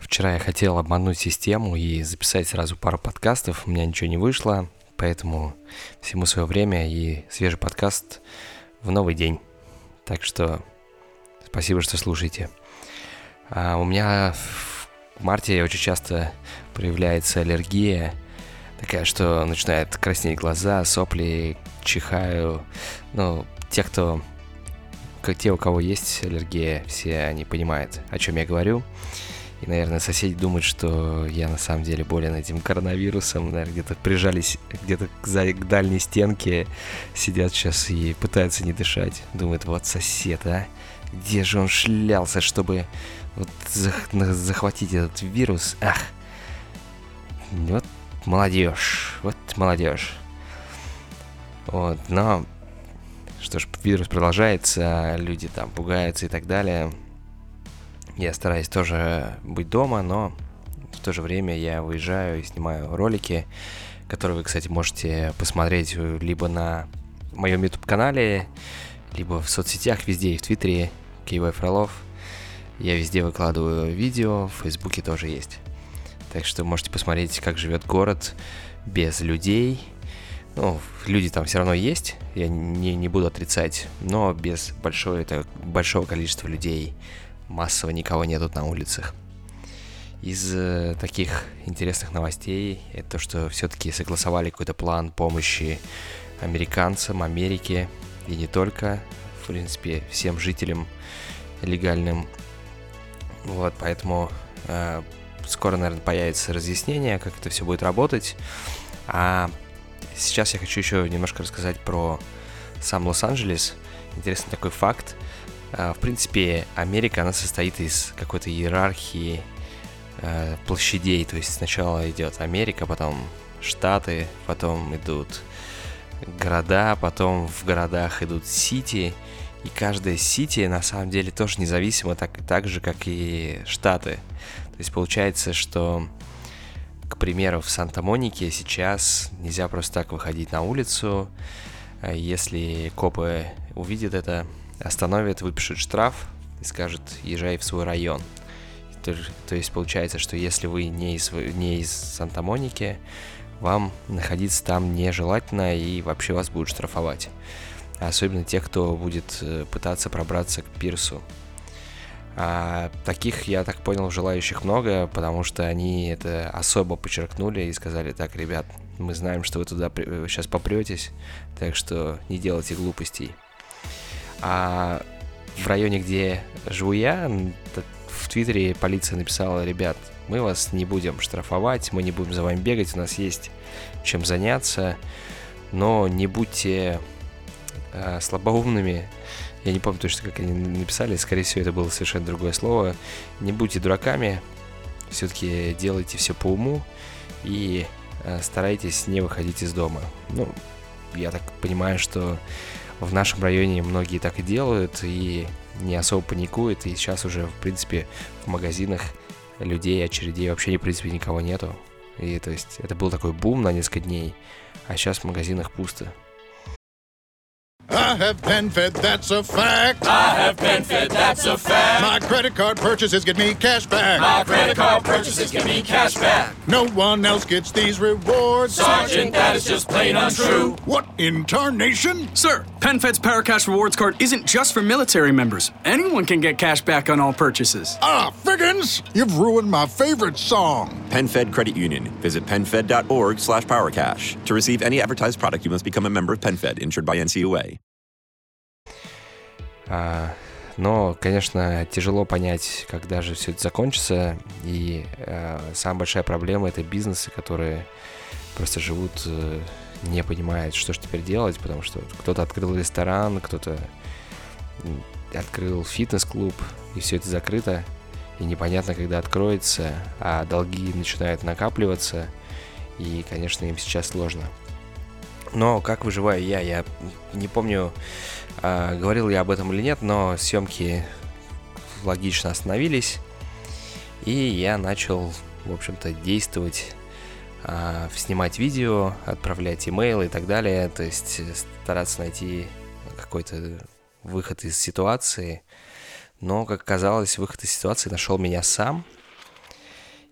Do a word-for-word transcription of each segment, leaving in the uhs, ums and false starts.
Вчера я хотел обмануть систему и записать сразу пару подкастов, у меня ничего не вышло, поэтому всему свое время и свежий подкаст в новый день. Так что спасибо, что слушаете. А у меня в марте очень часто проявляется аллергия, такая, что начинает краснеть глаза, сопли, чихаю. Ну, те, кто, как те, у кого есть аллергия, все они понимают, о чем я говорю. И, наверное, соседи думают, что я на самом деле болен этим коронавирусом. Наверное, где-то прижались где-то к, к дальней стенке, сидят сейчас и пытаются не дышать. Думают, вот сосед, а? Где же он шлялся, чтобы вот захватить этот вирус? Ах! Вот молодежь, вот молодежь. Вот, но что ж, вирус продолжается, люди там пугаются и так далее. Я стараюсь тоже быть дома, но в то же время я выезжаю и снимаю ролики, которые вы, кстати, можете посмотреть либо на моем YouTube-канале, либо в соцсетях, везде, и в Твиттере, Киевай Фролов. Я везде выкладываю видео, в Фейсбуке тоже есть. Так что можете посмотреть, как живет город без людей. Ну, люди там все равно есть, я не, не буду отрицать, но без большого, это, большого количества людей. Массово никого нету на улицах. Из э, таких интересных новостей это то, что все-таки согласовали какой-то план помощи американцам, Америке и не только, в принципе, всем жителям легальным. Вот, поэтому э, скоро, наверное, появится разъяснение, как это все будет работать. А сейчас я хочу еще немножко рассказать про сам Лос-Анджелес. Интересный такой факт. В принципе, Америка, она состоит из какой-то иерархии э, площадей. То есть сначала идет Америка, потом штаты, потом идут города, потом в городах идут сити. И каждая сити на самом деле тоже независима, так, так же, как и штаты. То есть получается, что, к примеру, в Санта-Монике сейчас нельзя просто так выходить на улицу. Если копы увидят это, остановят, выпишут штраф и скажут, езжай в свой район. То, то есть получается, что если вы не из, не из Санта-Моники, вам находиться там нежелательно и вообще вас будут штрафовать. Особенно те, кто будет пытаться пробраться к пирсу. А таких, я так понял, желающих много, потому что они это особо подчеркнули и сказали, так, ребят, мы знаем, что вы туда сейчас попретесь, так что не делайте глупостей. А в районе, где живу я, в Твиттере полиция написала, ребят, мы вас не будем штрафовать, мы не будем за вами бегать, у нас есть чем заняться, но не будьте э, слабоумными. Я не помню точно, как они написали, скорее всего, это было совершенно другое слово. Не будьте дураками, все-таки делайте все по уму и э, старайтесь не выходить из дома. Ну, я так понимаю, что в нашем районе многие так и делают, и не особо паникуют, и сейчас уже, в принципе, в магазинах людей, очередей вообще, в принципе, никого нету. И, то есть, это был такой бум на несколько дней, а сейчас в магазинах пусто. I have PenFed, that's a fact. I have PenFed, that's a fact. My credit card purchases get me cash back. My credit card purchases get me cash back. No one else gets these rewards. Sergeant, that is just plain untrue. What in tarnation? Sir, PenFed's Paracash Rewards Card isn't just for military members. Anyone can get cash back on all purchases. Ah, Figgins, you've ruined my favorite song. PenFed Credit Union. Visit PenFed.org slash PowerCash. To receive any advertised product, you must become a member of PenFed, insured by эн си ю эй. А, но, конечно, тяжело понять, когда же все это закончится. И а, самая большая проблема — это бизнесы, которые просто живут, не понимают, что же теперь делать, потому что кто-то открыл ресторан, кто-то открыл фитнес-клуб, и все это закрыто, и непонятно, когда откроется, а долги начинают накапливаться, и, конечно, им сейчас сложно. Но как выживаю я? Я не помню, э, говорил я об этом или нет, но съемки логично остановились, и я начал, в общем-то, действовать, э, снимать видео, отправлять имейлы и так далее, то есть стараться найти какой-то выход из ситуации. Но, как оказалось, выход из ситуации нашел меня сам.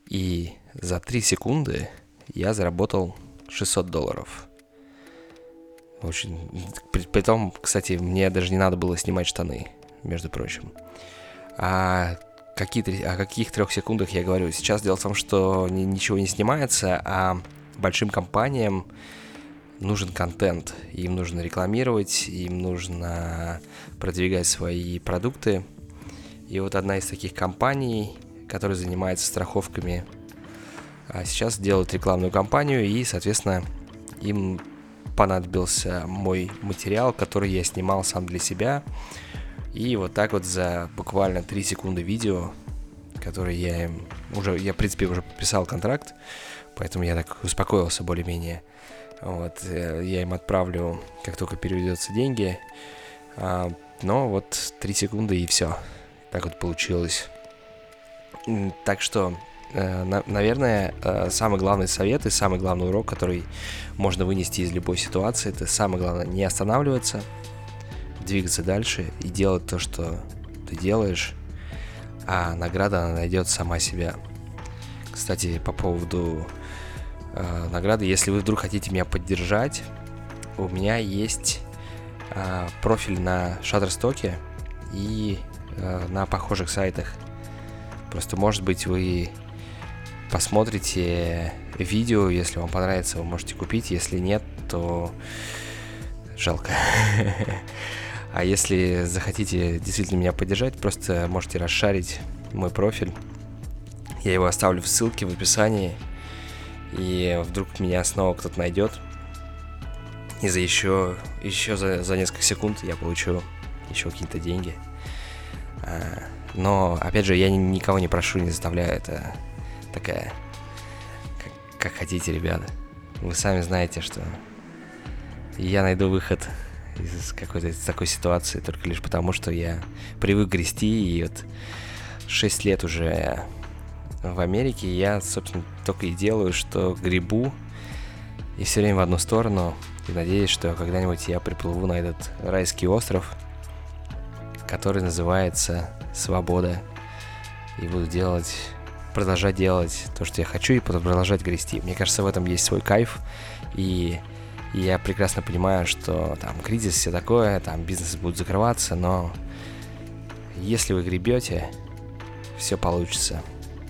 И за три секунды я заработал шестьсот долларов. Очень... При, при том, кстати, мне даже не надо было снимать штаны, между прочим. А какие, о каких трех секундах я говорю? Сейчас дело в том, что ни, ничего не снимается, а большим компаниям нужен контент. Им нужно рекламировать, им нужно продвигать свои продукты. И вот одна из таких компаний, которая занимается страховками, сейчас делают рекламную кампанию, и, соответственно, им понадобился мой материал, который я снимал сам для себя. И вот так вот за буквально три секунды видео, которое я им уже, я, в принципе, уже подписал контракт, поэтому я так успокоился более-менее. Вот, я им отправлю, как только переведутся деньги. А, но вот три секунды и все. Так вот получилось. Так что, э, наверное, э, самый главный совет и самый главный урок, который можно вынести из любой ситуации, это самое главное не останавливаться, двигаться дальше и делать то, что ты делаешь, а награда, она найдет сама себя. Кстати, по поводу э, награды, если вы вдруг хотите меня поддержать, у меня есть э, профиль на Shutterstock и э, на похожих сайтах. Просто, может быть, вы посмотрите видео, если вам понравится, вы можете купить, если нет, то жалко. А если захотите действительно меня поддержать, просто можете расшарить мой профиль. Я его оставлю в ссылке в описании. И вдруг меня снова кто-то найдет. И за еще, еще за, за несколько секунд я получу еще какие-то деньги. Но, опять же, я никого не прошу, не заставляю. Это такая... Как, как хотите, ребята. Вы сами знаете, что я найду выход из какой-то из такой ситуации только лишь потому, что я привык грести, и вот шесть лет уже в Америке я, собственно, только и делаю, что гребу, и все время в одну сторону, и надеюсь, что когда-нибудь я приплыву на этот райский остров, который называется свобода, и буду делать, продолжать делать то, что я хочу, и продолжать грести. Мне кажется, в этом есть свой кайф, и И я прекрасно понимаю, что там кризис, все такое, там бизнес будет закрываться, но если вы гребете, все получится.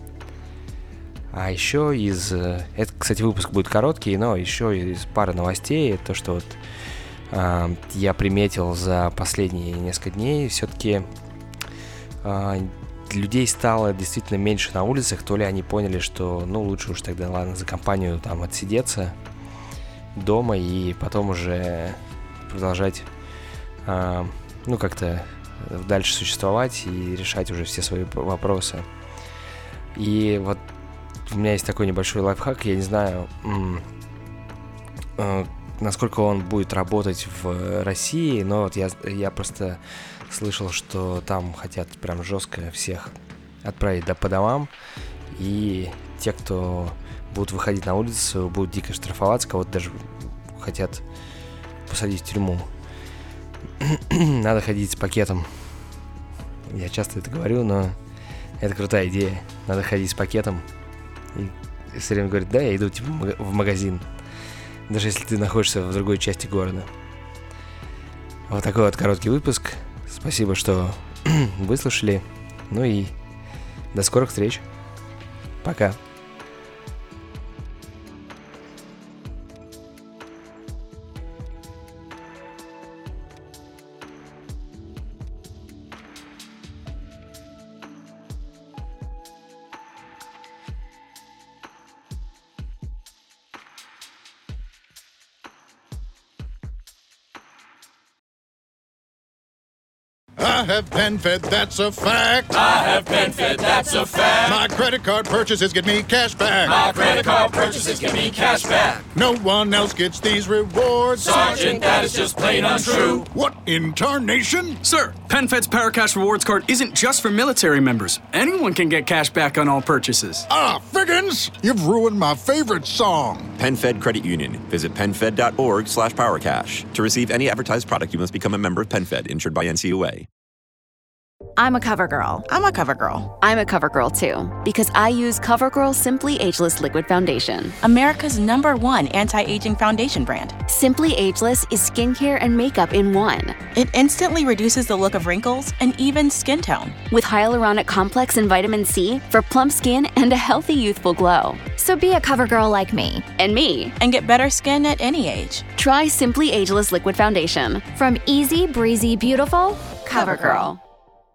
А еще из... Это, кстати, выпуск будет короткий, но еще из пары новостей, то, что вот э, я приметил за последние несколько дней, все-таки э, людей стало действительно меньше на улицах, то ли они поняли, что, ну, лучше уж тогда, ладно, за компанию там отсидеться дома и потом уже продолжать, э, ну, как-то дальше существовать и решать уже все свои вопросы. И вот у меня есть такой небольшой лайфхак, я не знаю, м- э, насколько он будет работать в России, но вот я, я просто слышал, что там хотят прям жестко всех отправить до по домам, и те, кто будут выходить на улицу, будут дико штрафоваться, кого-то даже хотят посадить в тюрьму. Надо ходить с пакетом. Я часто это говорю, но это крутая идея. Надо ходить с пакетом. И все время говорит, да, я иду типа в магазин. Даже если ты находишься в другой части города. Вот такой вот короткий выпуск. Спасибо, что выслушали. Ну и до скорых встреч. Пока. I have been fed, that's a fact. I have been fed, that's a fact. My credit card purchases get me cash back. My credit card purchases give me cash back. No one else gets these rewards. Sergeant, that is just plain untrue. What in tarnation? Sir, PenFed's PowerCash Rewards Card isn't just for military members. Anyone can get cash back on all purchases. Ah, Figgins, you've ruined my favorite song. PenFed Credit Union. Visit PenFed.org slash PowerCash. To receive any advertised product, you must become a member of PenFed, insured by N C U A. I'm a cover girl. I'm a cover girl. I'm a cover girl too, because I use CoverGirl Simply Ageless Liquid Foundation. America's number one anti-aging foundation brand. Simply Ageless is skincare and makeup in one. It instantly reduces the look of wrinkles and even skin tone. With hyaluronic complex and vitamin C for plump skin and a healthy youthful glow. So be a cover girl like me. And me. And get better skin at any age. Try Simply Ageless Liquid Foundation. From easy, breezy, beautiful, CoverGirl.